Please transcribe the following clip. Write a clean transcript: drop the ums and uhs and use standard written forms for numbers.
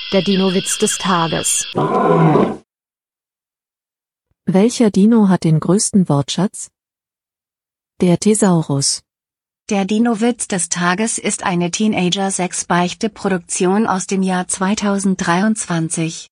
Der Dino-Witz des Tages. Welcher Dino hat den größten Wortschatz? Der Thesaurus. Der Dino-Witz des Tages ist eine Teenager-6-Beichte-Produktion aus dem Jahr 2023.